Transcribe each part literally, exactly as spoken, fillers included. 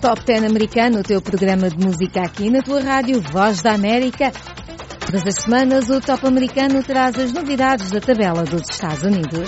Top dez americano, o teu programa de música aqui na tua rádio Voz da América. Todas as semanas o Top americano traz as novidades da tabela dos Estados Unidos.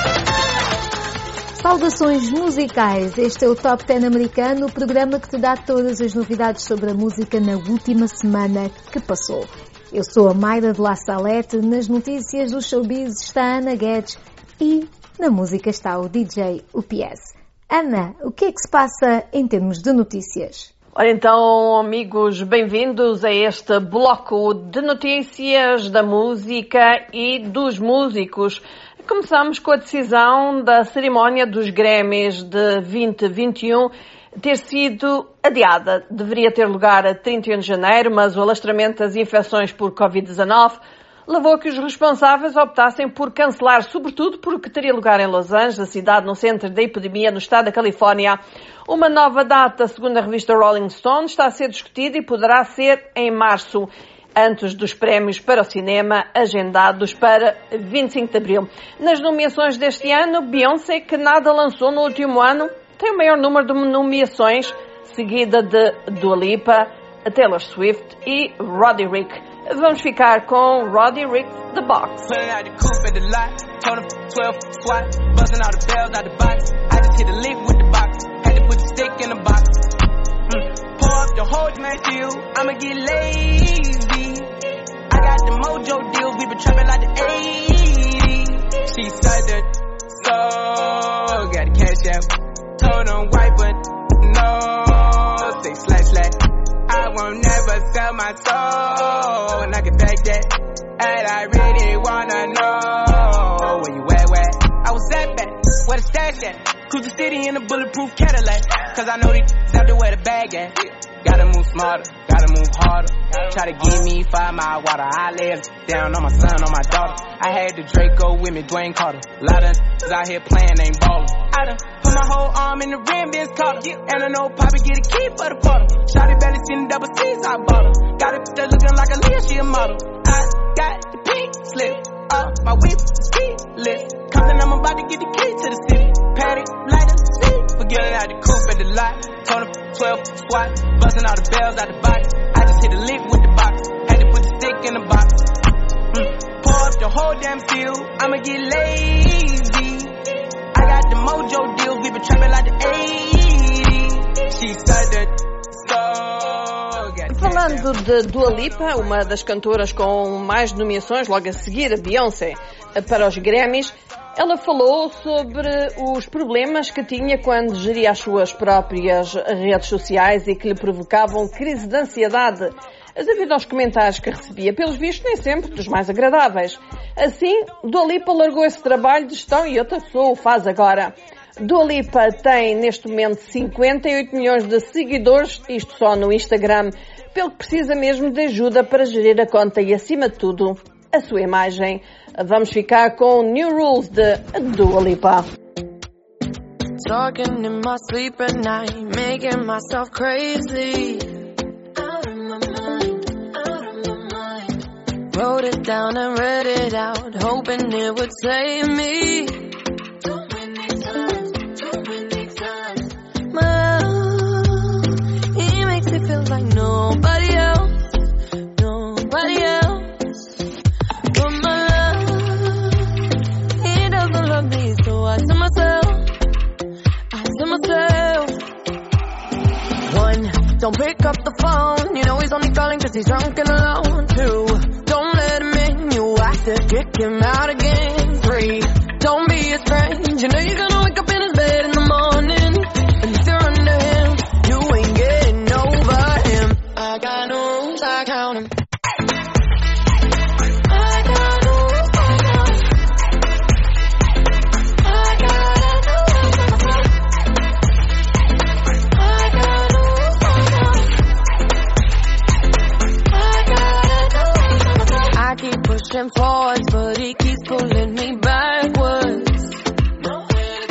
Saudações musicais, este é o Top dez americano, o programa que te dá todas as novidades sobre a música na última semana que passou. Eu sou a Mayra de La Salete, nas notícias do showbiz está a Ana Guedes e na música está o D J U P S. Ana, o que é que se passa em termos de notícias? Ora então, amigos, bem-vindos a este bloco de notícias da música e dos músicos. Começamos com a decisão da cerimónia dos Grammys de vinte vinte e um ter sido adiada. Deveria ter lugar a trinta e um de janeiro, mas o alastramento das infecções por covid dezanove levou a que os responsáveis optassem por cancelar, sobretudo porque teria lugar em Los Angeles, a cidade no centro da epidemia no estado da Califórnia. Uma nova data, segundo a revista Rolling Stone, está a ser discutida e poderá ser em março, antes dos prémios para o cinema, agendados para vinte e cinco de abril. Nas nomeações deste ano, Beyoncé, que nada lançou no último ano, tem o maior número de nomeações, seguida de Dua Lipa, Taylor Swift e Roddy Ricch. Vamos ficar com Roddy Ricch, The Box. I won't never sell my soul, and I can take that. And I really wanna know where you at, where I was at back, where the stash at. Cruise the city in a bulletproof Cadillac, cause I know these out there where the bag at. Gotta move smarter, gotta move harder. Try to give me five mile water. I lay down on my son, on my daughter. I had the Draco with me, Dwayne Carter. Lot of out here playing, ain't ballin'. I done put my whole arm in the rim, Vince Carter. And I know Poppy get a key for the bottle. Shotty belly seen the double C's, I bought her. Got it there looking like a Leah, she a model. I got the pink slip up, my whip is keyless. Compton, I'm about to get the key to the city. Patty, light up, see. Forgetting out the coupe at the lot. Tony twelve squat, busting all the bells out the box. I just hit a lick with the box. Had to put the stick in the box. Mm. Pour up the whole damn field. I'ma get lazy. I got the mojo deals. We been trapping like the eighties. She said that. Falando de Dua Lipa, uma das cantoras com mais nomeações, logo a seguir a Beyoncé, para os Grammys, ela falou sobre os problemas que tinha quando geria as suas próprias redes sociais e que lhe provocavam crise de ansiedade, devido aos comentários que recebia, pelos vistos nem sempre dos mais agradáveis. Assim, Dua Lipa largou esse trabalho de gestão e outra pessoa o faz agora. Dua Lipa tem neste momento cinquenta e oito milhões de seguidores, isto só no Instagram, pelo que precisa mesmo de ajuda para gerir a conta e, acima de tudo, a sua imagem. Vamos ficar com New Rules de Dua Lipa. Talking in my sleep at night, making myself crazy. Out of my mind, out of my mind. Wrote it down and read it out, hoping it would save me. Too many times, too many times. My love, he makes me feel like nobody else, nobody else. But my love, he doesn't love me, so I tell myself, I tell myself. One, don't pick up the phone, you know he's only calling cause he's drunk and alone. Two, don't let him in, you have to kick him out again. Three, don't be his friend, you know you're gonna wake up in his bed in the morning. And if you're under him, you ain't getting over him. I got no rules, I count him. I got no rules, I count him. I got no rules, I got no rules, I got no rules. I keep pushing forwards, but he keeps pulling me backwards. Nowhere to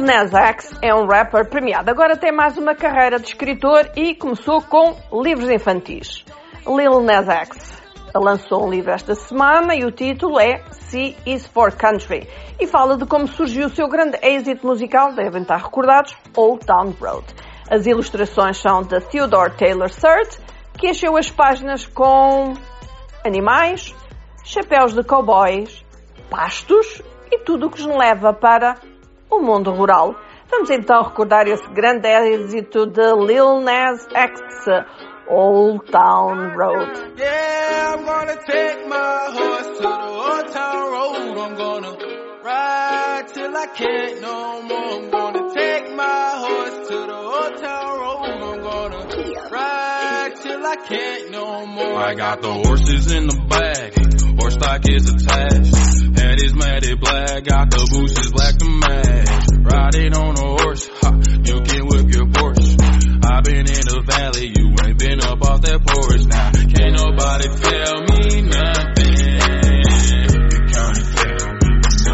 Nas X é um rapper premiado. Agora tem mais uma carreira de escritor e começou com livros infantis. Lil Nas X lançou um livro esta semana e o título é C is for Country e fala de como surgiu o seu grande êxito musical, devem estar recordados, Old Town Road. As ilustrações são de Theodore Taylor Surd, que encheu as páginas com animais, chapéus de cowboys, pastos e tudo o que nos leva para o mundo rural. Vamos então recordar esse grande êxito de Lil Nas X, Old Town Road. Yeah, I'm gonna take my horse to the Old Town Road. I'm gonna ride till I can't no more. I'm gonna take my horse to the Old Town Road. I'm gonna ride till I can't no more. I got the horses in the bag, horse stock is attached. Head is matted black, got the bushes black to match. Riding on a horse, ha, you can whip your Porsche. I've been in the valley, you ain't been up off that porch. Now, can't nobody tell me nothing. You can't tell me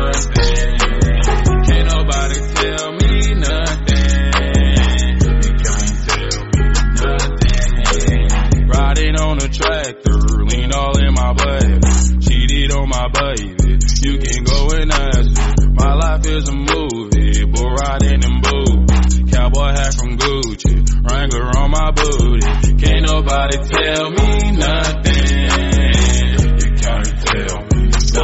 nothing. Can't nobody tell me nothing. You can't tell me nothing. Riding on a tractor, lean all in my butt. Cheated on my baby, you can go and ask her. My life is a movie, bull riding in boots. Cowboy hat from Gucci, Wrangler on my booty. Can't nobody tell me nothing. You can't tell me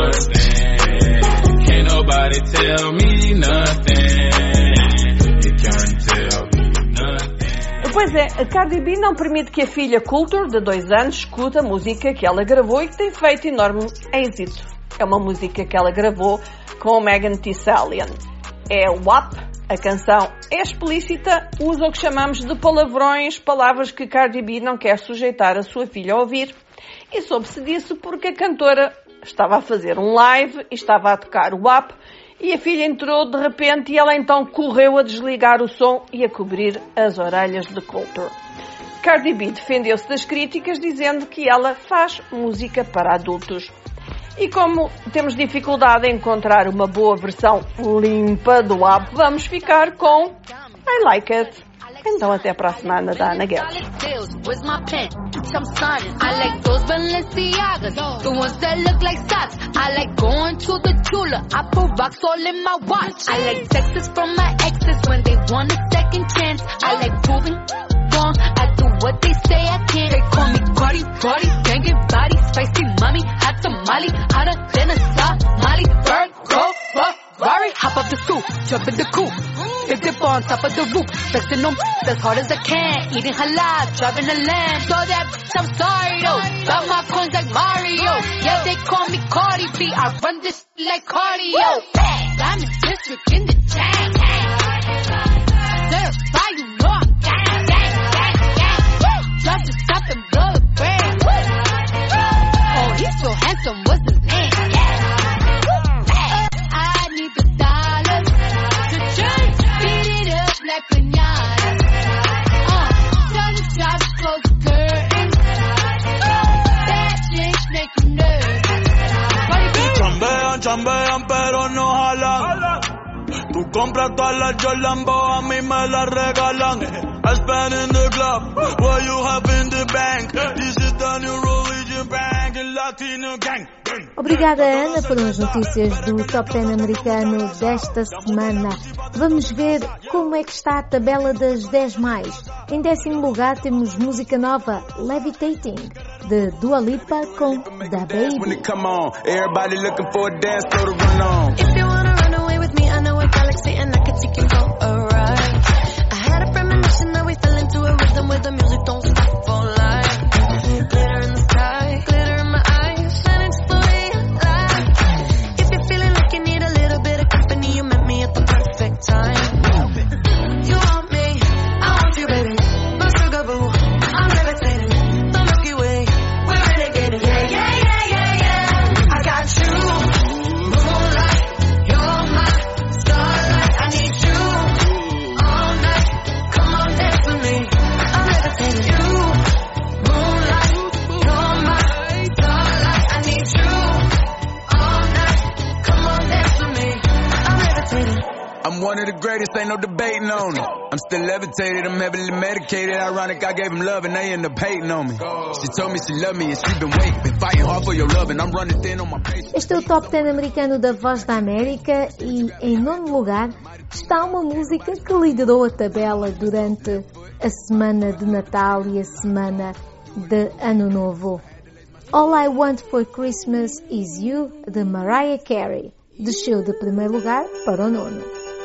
nothing. Can't nobody tell me nothing. You can't tell me nothing. Pois é, a Cardi B não permite que a filha Culture, de dois anos, escute a música que ela gravou e que tem feito enorme êxito. É uma música que ela gravou com Megan Thee Stallion. É o W A P. A canção é explícita, usa o que chamamos de palavrões, palavras que Cardi B não quer sujeitar a sua filha a ouvir. E soube-se disso porque a cantora estava a fazer um live e estava a tocar o W A P e a filha entrou de repente e ela então correu a desligar o som e a cobrir as orelhas de Culture. Cardi B defendeu-se das críticas dizendo que ela faz música para adultos. E como temos dificuldade em encontrar uma boa versão limpa do W A P, vamos ficar com I Like It. Então até para a semana da Ana Guedes. I do what they say I can't. They call me Cardi, Cardi, banging body, spicy mommy, hot tamale, hotter than a Somali. Bird, go, Ferrari, hop up the scoop, jump in the coop, big dip on top of the roof, flexing them as hard as I can, eating halal, driving a lamb. So that bitch, I'm sorry though, got my coins like Mario. Yeah, they call me Cardi B, I run this like cardio. I'm in district in the chain. Certified, you know I'm gang, gang, gang, gang. Drop the top and blow the brand. Oh, he's so handsome, what's his name? I need the dollars to change, beat it up like pinata. Uh, tell the job to close the curtain. That chick make you nervous. Chambean, chambean, pero no jalan. Tú compras todas las Jolambo, a mí me las regalan. I spend in the club, what you have in the bank. This is the new religion bank, Latino gang. Obrigada, Ana, foram as notícias do Top dez americano desta semana. Vamos ver como é que está a tabela das dez mais. Em décimo lugar temos música nova, Levitating, de Dua Lipa com Da Baby. I know a galaxy and I could take you for a ride. I had a premonition that we fell into a rhythm where the music don't stop for life. Glitter in the sky, glitter in my eyes, shining just the way I like. If you're feeling like you need a little bit of company, you met me at the perfect time. You want me, I want you, baby. My sugar boo, I'm levitating. The Milky Way, we're renegading. Yeah, yeah, yeah, yeah, yeah. I got you, moonlight, you're my starlight. I need you all night. Come on, dance with me. I'm levitating. You, moonlight. one of the greatest, ain't no debating on it. I'm still levitated, I'm heavily medicated. Ironic, I gave him love and they end up hating on me. She told me she loved me and she been waiting. Been fighting hard for your love and I'm running thin on my patience. Este é o Top dez americano da Voz da América e, em nono lugar, está uma música que liderou a tabela durante a semana de Natal e a semana de Ano Novo. All I Want for Christmas Is You, de Mariah Carey. Desceu de primeiro lugar para o nono.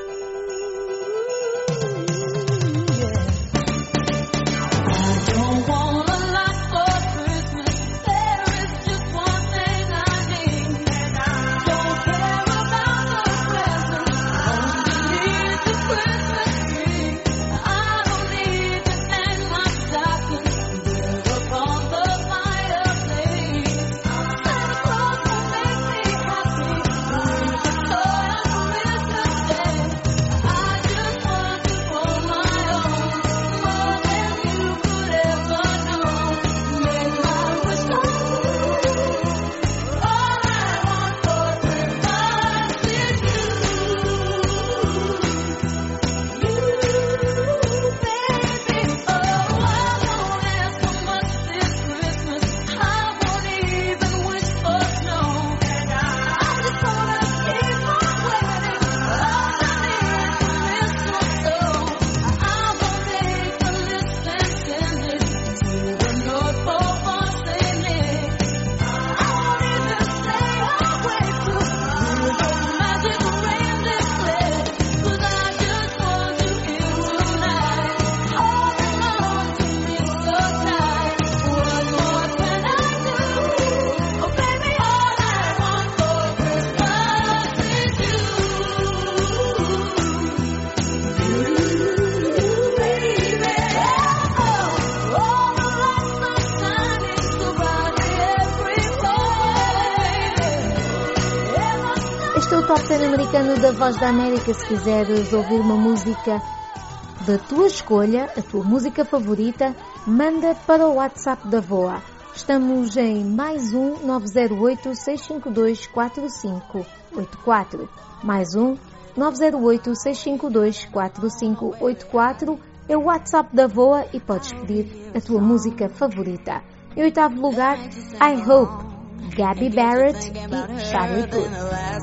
Top dez americano da Voz da América. Se quiseres ouvir uma música da tua escolha, a tua música favorita, manda para o WhatsApp da V O A. Estamos em mais um nove zero oito, seis cinco dois, quatro cinco oito quatro. Mais um nove zero oito, seis cinco dois, quatro cinco oito quatro. É o WhatsApp da V O A e podes pedir a tua música favorita. Em oitavo lugar, I Hope, Gabby Barrett e Charlie Puth.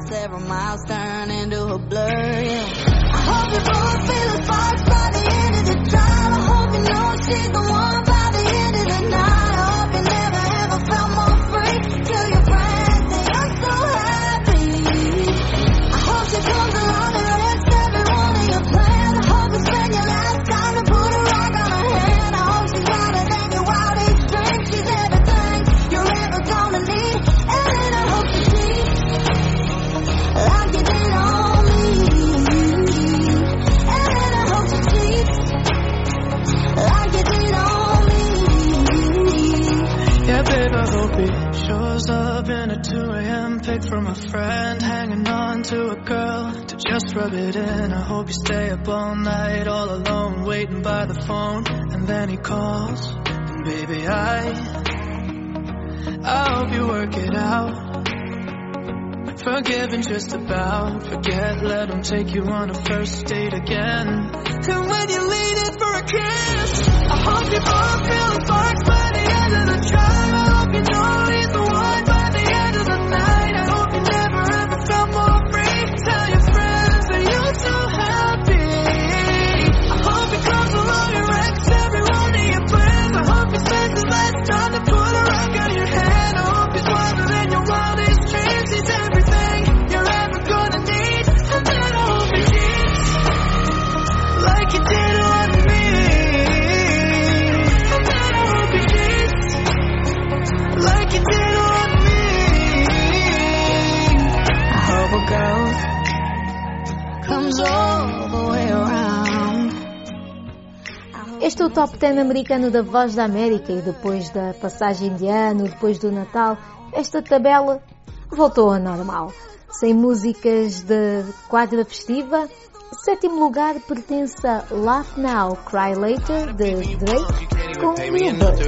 From a friend hanging on to a girl to just rub it in. I hope you stay up all night all alone waiting by the phone, and then he calls and baby I I hope you work it out. Forgiving just about, forget, let him take you on a first date again. And when you lean in for a kiss, I hope you both feel the sparks by the end of the drive. I hope you know he's the one by the end of the night. Este é o Top dez americano da Voz da América e depois da passagem de ano, depois do Natal, esta tabela voltou ao normal. Sem músicas de quadra festiva, sétimo lugar pertence a Laugh Now, Cry Later, de Drake, com Lil Bird.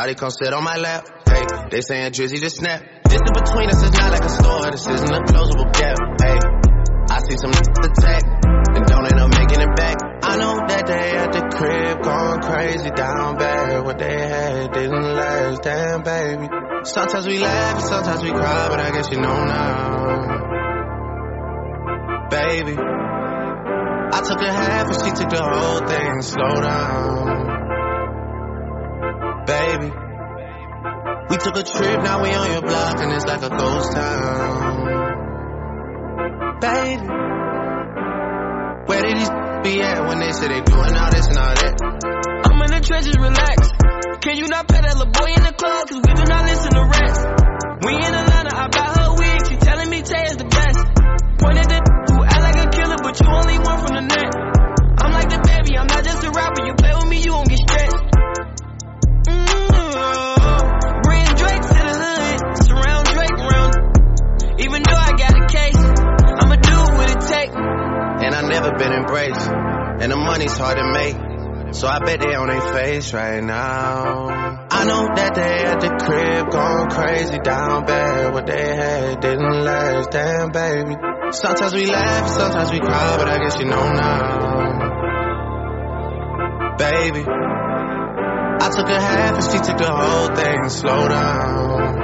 Shawty come sit on my lap. Hey, they saying Drizzy just snap. This in between us is not like a store. This isn't a closable gap. Hey, I see some attack and don't end up making it back. I know that they at the crib going crazy down bad. What they had didn't last, damn baby. Sometimes we laugh and sometimes we cry, but I guess you know now, baby. I took a half and she took the whole thing. Slow down, baby. We took a trip, now we on your block and it's like a ghost town, baby. Where did these be at when they say they doing all this and all that? I'm in the trenches, relax. Can you not pet that little boy in the club? Cause we do not listen to rest. We in Atlanta, I bought her wig. She telling me Tay is the best. Pointed at who act like a killer, but you only one from the net. I'm like the baby, I'm not just a rapper. You play with me, you won't get stressed. Mm-hmm. Bring Drake to the hood, surround Drake around. Even though I got a case, I'ma do what it take. And I never been embraced, and the money's hard to make, so I bet they on their face right now. I know that they at the crib going crazy down bad. What they had didn't last, damn baby. Sometimes we laugh, sometimes we cry, but I guess you know now, baby. I took a half and she took the whole thing. Slow down,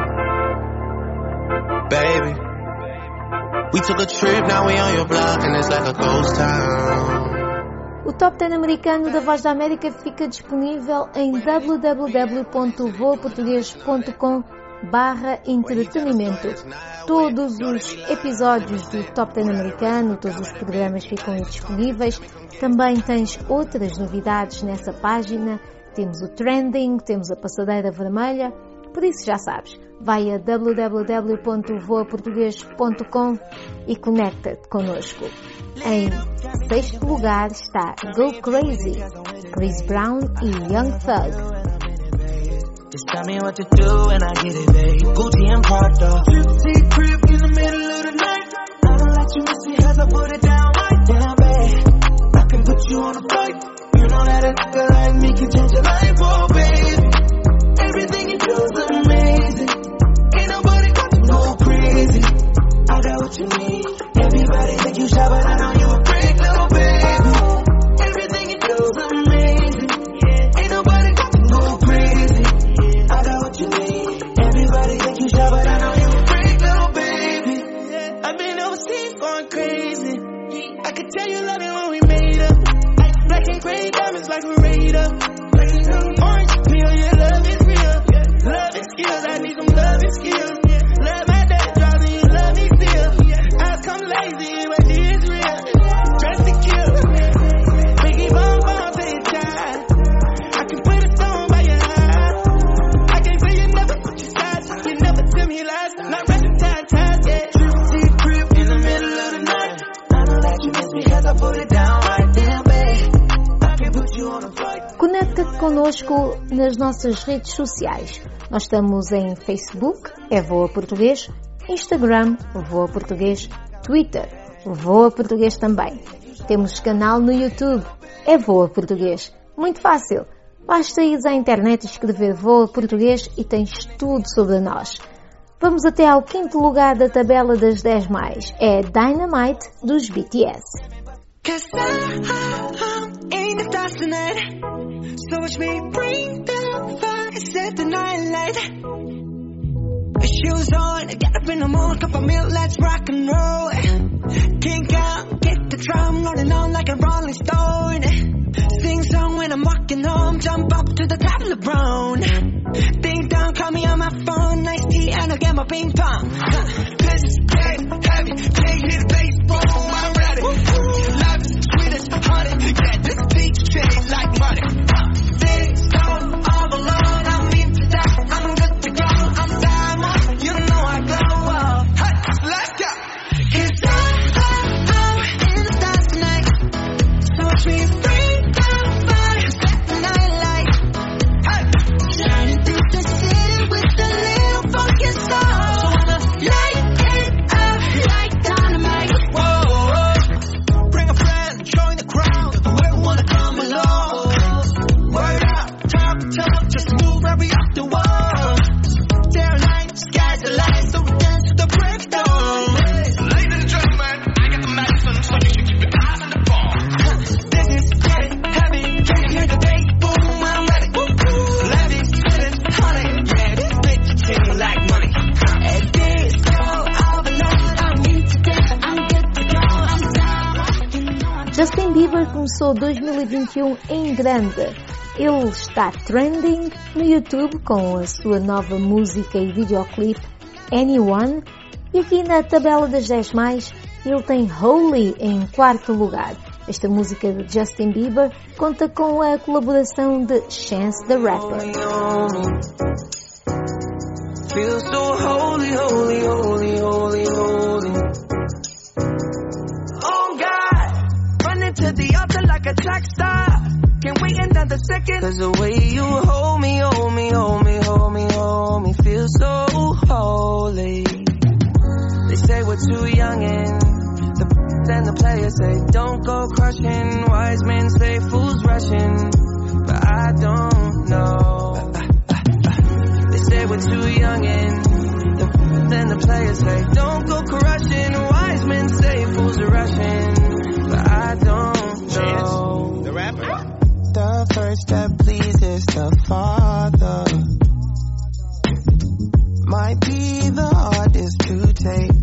baby. We took a trip, now we on your block and it's like a ghost town. O Top dez americano da Voz da América fica disponível em w w w ponto voa português ponto com barra entretenimento. Todos os episódios do Top dez americano, todos os programas ficam disponíveis. Também tens outras novidades nessa página. Temos o Trending, temos a Passadeira Vermelha. Por isso já sabes, vai a w w w ponto voa português ponto com e conecta-te connosco. Em sexto lugar está Go Crazy, Chris Brown e Young Thug. Just tell me what to do and I get it, babe. Gucci and Prada. Gypsy crib in the middle of the night. I don't let you miss it as I put it down right down, babe. I can put you on a flight. You know that a nigga like me can change your life, oh babe. Everything you do is amazing. Ain't nobody got to go crazy. I got what you need. Everybody think you shy, but I know you a freak, little baby. Everything you do is amazing. Ain't nobody got to go crazy. I got what you need. Everybody think you shy, but I know you a freak, little baby. I've been overseas going crazy. I could tell you love it when we made up. Black and gray diamonds like a radar. Orange peel, yeah, love is real. Love is skills, I need some love and skills. Love my dad, driving you love me still. I come lazy, but she is real. Dress to kill. Biggie bomb bomb to your child. I can put a stone by your eye. I can't say you never put your side. You never tell me lies. Not rapping time, time, yeah. Gypsy crib in the middle of the night. I know that you miss me cause I put it down right there, babe. I can put you on a flight. Conecta-te connosco nas nossas redes sociais. Nós estamos em Facebook, é Voa Português, Instagram, Voa Português, Twitter, Voa Português também. Temos canal no YouTube, é Voa Português. Muito fácil, basta ir à internet e escrever Voa Português e tens tudo sobre nós. Vamos até ao quinto lugar da tabela das dez mais, é Dynamite dos B T S. Cause I, I'm in the dust tonight. So watch me bring the fire, set the night light. Shoes on, get up in the morning, cup of milk, let's rock and roll. Kink out, get the drum, rolling on like a rolling stone. Sing song when I'm walking home, jump up to the top of the brown. Ding dong, call me on my phone, nice tea and I'll get my ping pong. This is dead, heavy, can't hit the bass, boom, I'm ready. Life is sweet as honey, yeah, this beat shade like money. Sing song, all alone, I'm into that, I'm good to go, I'm diamond, you know I glow up. Hey, let's go. Cause I, I, I'm in the stars tonight, so watch me bring down fire, set the night light. Hey, shining through the city with a little funk inside. So wanna light Bieber começou dois mil e vinte e um em grande. Ele está trending no YouTube com a sua nova música e videoclipe Anyone. E aqui na tabela das dez mais, ele tem Holy em quarto lugar. Esta música de Justin Bieber conta com a colaboração de Chance the Rapper. Feel so holy, holy, holy, holy, holy. Oh God, running to the altar like a track star. Can't wait another second. Cause the way you hold me, hold me, hold me, hold me, hold me, feel so holy. They say we're too young and the then the players say don't go crushing. Wise men say fools rushing, but I don't know. They say we're too young and the, then the players say don't go crushing. Wise men say fools are rushing, but I don't know. Chance, the rapper. The first that pleases the Father might be the hardest to take.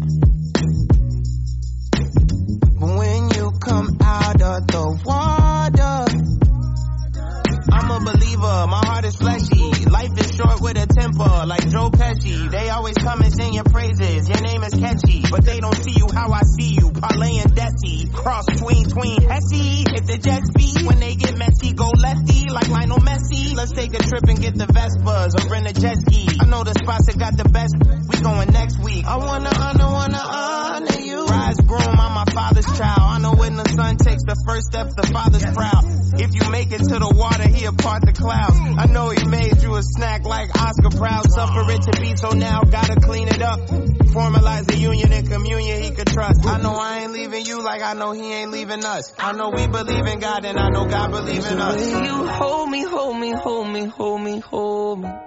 But when you come out of the water, I'm a believer, my heart is fleshy. Life is short with a temper, like Joe Pesci. They always come and sing your praises, your name is catchy. But they don't see you how I see you, Parlay and Desi. Cross tween, tween, Hesse. If the Jets beat, when they get messy, go lefty, like Lionel Messi. Let's take a trip and get the Vespas, or rent a jet ski. I know the spots that got the best, we going next week. I wanna honor, wanna honor you. Rise groom, I'm my father's child. I know when the son takes the first step, the father's proud. If you make it to the water, he'll part the clouds. I know he made you a snack like Oscar Proud. Suffer it to be, so now gotta clean it up. Formalize the union and communion he could trust. I know I ain't leaving you like I know he ain't leaving us. I know we believe in God and I know God believe in us. Will you hold me, hold me, hold me, hold me, hold me.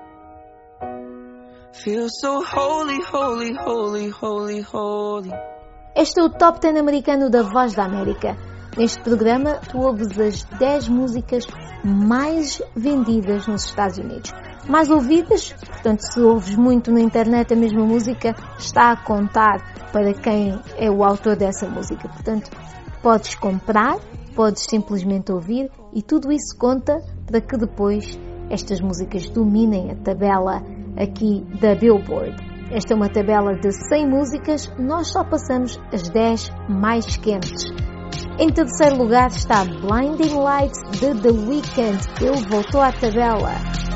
Feel so holy, holy, holy, holy, holy. Este é o Top dez americano da Voz da América. Neste programa, tu ouves as dez músicas mais vendidas nos Estados Unidos. Mais ouvidas, portanto, se ouves muito na internet a mesma música, está a contar para quem é o autor dessa música. Portanto, podes comprar, podes simplesmente ouvir e tudo isso conta para que depois estas músicas dominem a tabela aqui da Billboard. Esta é uma tabela de cem músicas, nós só passamos as dez mais quentes. Em terceiro lugar está Blinding Lights de The Weeknd. Ele voltou à tabela.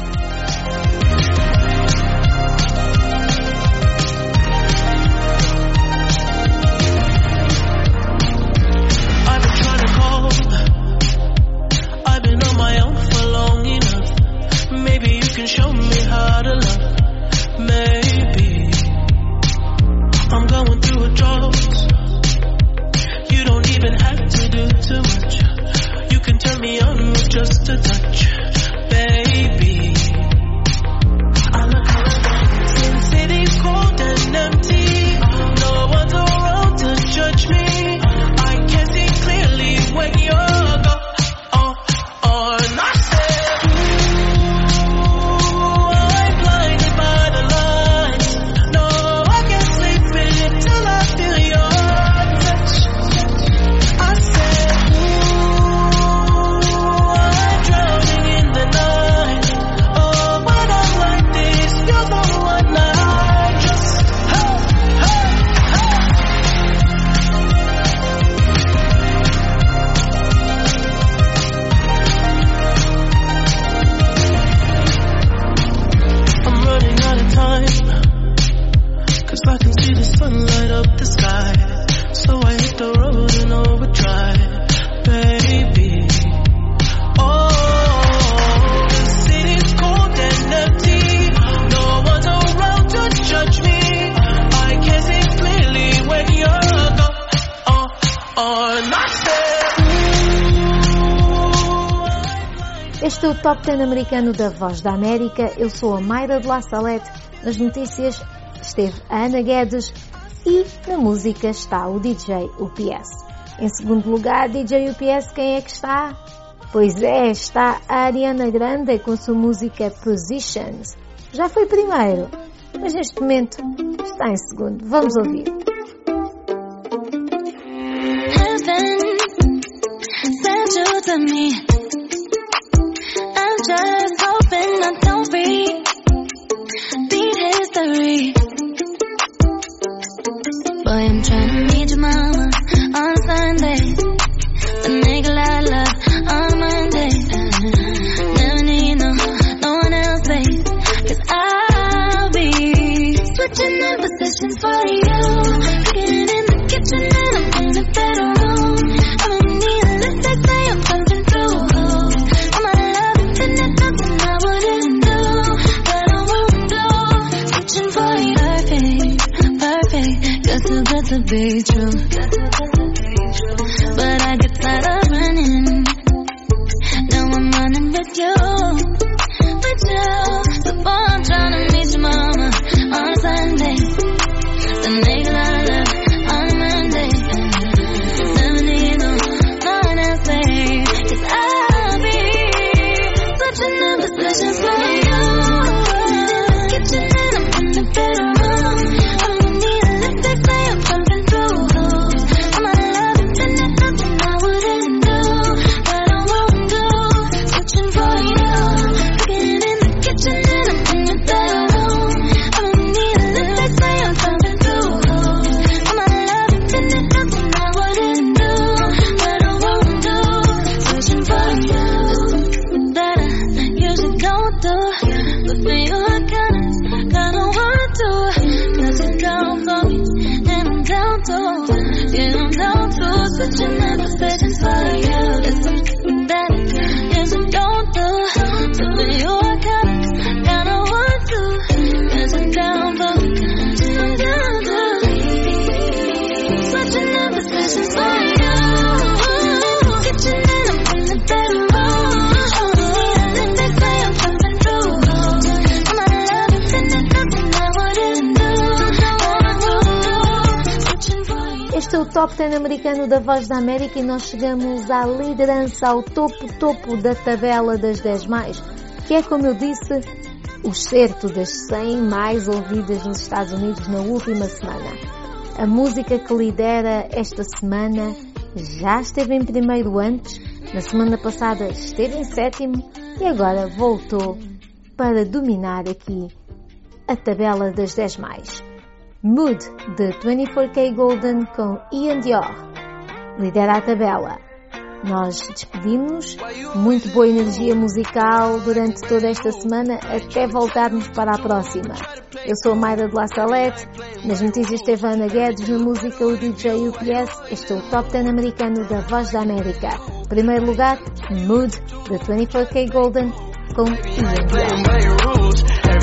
I've been trying to call. I've been on my own for long enough. Maybe you can show me how to love. Maybe I'm going through a drought. You don't even have to do too much. You can turn me on with just a touch, baby. I look around, Sin City's cold and empty. No one's around to judge me. I can see clearly when you're gone. And I said, ooh, I'm blinded by the lights. No, I can't sleep until I feel your touch. I said, ooh, I'm drowning in the night. Oh, when I'm like this, you're the one I trust. Hey, hey, I'm running out of time, 'cause I can see the sun light up the sky. So I hit the road in overdrive, baby. Oh, the city's cold and empty. No one's around to judge me. I can see clearly when you're gone. Oh, oh, and I said, ooh, Este é o Top dez americano da Voz da América. Eu sou a Mayra de La Salete. Nas notícias esteve a Ana Guedes e na música está o D J U P S. Em segundo lugar, D J U P S, quem é que está? Pois é, está a Ariana Grande com a sua música Positions. Já foi primeiro, mas neste momento está em segundo. Vamos ouvir. Heaven, meet your mama on Sunday. Then make a lot of love on Monday. Never need no, no one else, babe. Cause I'll be switching up positions for you. Getting in the kitchen and I'm in the bedroom. I don't need a list that say I'm jumping through hoops. All my love and there's nothing I wouldn't do, that I won't do. Switching for you, perfect, perfect. You're too good to be true. But I get tired of running. Now I'm running with you, with you. So boy, I'm trying to meet your mama on Sunday. Then make a lot of love on Monday. Never need no, no one else, babe. Cause I'll be switching up positions for you. Kitchen and I'm in the bedroom. I don't need a list that say I'm jumping through hoops. All my love and there's nothing I wouldn't do, that I won't do. Switching for you. Getting in the kitchen and I'm in the bedroom. I don't need a list that say I'm jumping through hoops. All my love and there's nothing I wouldn't do, that I won't do. Switching for you. That I usually don't do, but for you I kinda, kinda want to. Cause you're down for me, and I'm down to, yeah, I'm down to. Switching up positions for you. It's something that I usually don't do, but for you I kinda, kinda want to. Cause you're down for me, and I'm down to. Switching up positions for you. Kitchen and I'm in the bedroom. Este é o Top dez americano da Voz da América e nós chegamos à liderança, ao topo, topo da tabela das dez mais, que é, como eu disse, o certo das cem mais ouvidas nos Estados Unidos na última semana. A música que lidera esta semana já esteve em primeiro antes, na semana passada esteve em sétimo e agora voltou para dominar aqui a tabela das dez mais. Mood, de vinte e quatro K Golden com Ian Dior, lidera a tabela. Nós despedimos, muito boa energia musical durante toda esta semana, até voltarmos para a próxima. Eu sou a Mayra de La Salette, nas notícias teve a Ana Guedes, na música o D J U P S. Este é o Top dez americano da Voz da América. Primeiro lugar, Mood, de vinte e quatro K Golden com Ian Dior.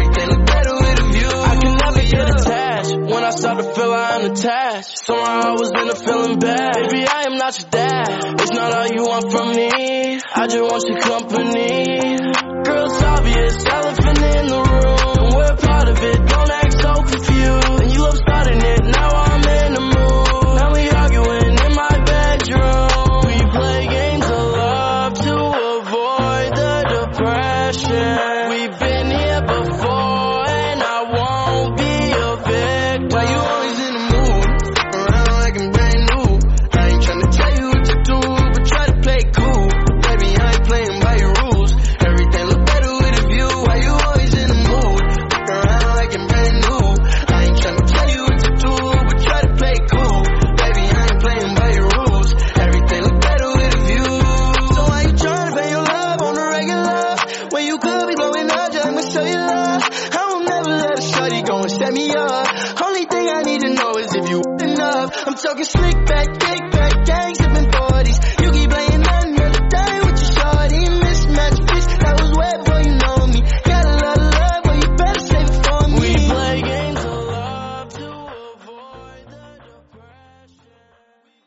When I start to feel I'm attached, somehow I was in a feeling bad. Baby, I am not your dad. It's not all you want from me. I just want your company. Girl, it's obvious, elephant in the room. We're part of it, don't act so confused. And you love starting it, now I'm in the mood. Now we arguing in my bedroom. We play games of love to avoid the depression. We've been here before and I won't be a victim. Why you always in the mood? Around like I'm brand new. I ain't tryna tell you what to do, but try to play cool. Baby, I ain't playing by your rules. Everything look better with a view. Why you always in the mood? Around like I'm brand new. I ain't tryna tell you what to do, but try to play cool. Baby, I ain't playing by your rules. Everything look better with a view. So why you tryna pay your love on the regular? When you could be blowing up, just I'ma show you love. I will never let a shorty go and set me up. Only thing I need to know is if you enough. I'm talking slick back, kick back, gang sipping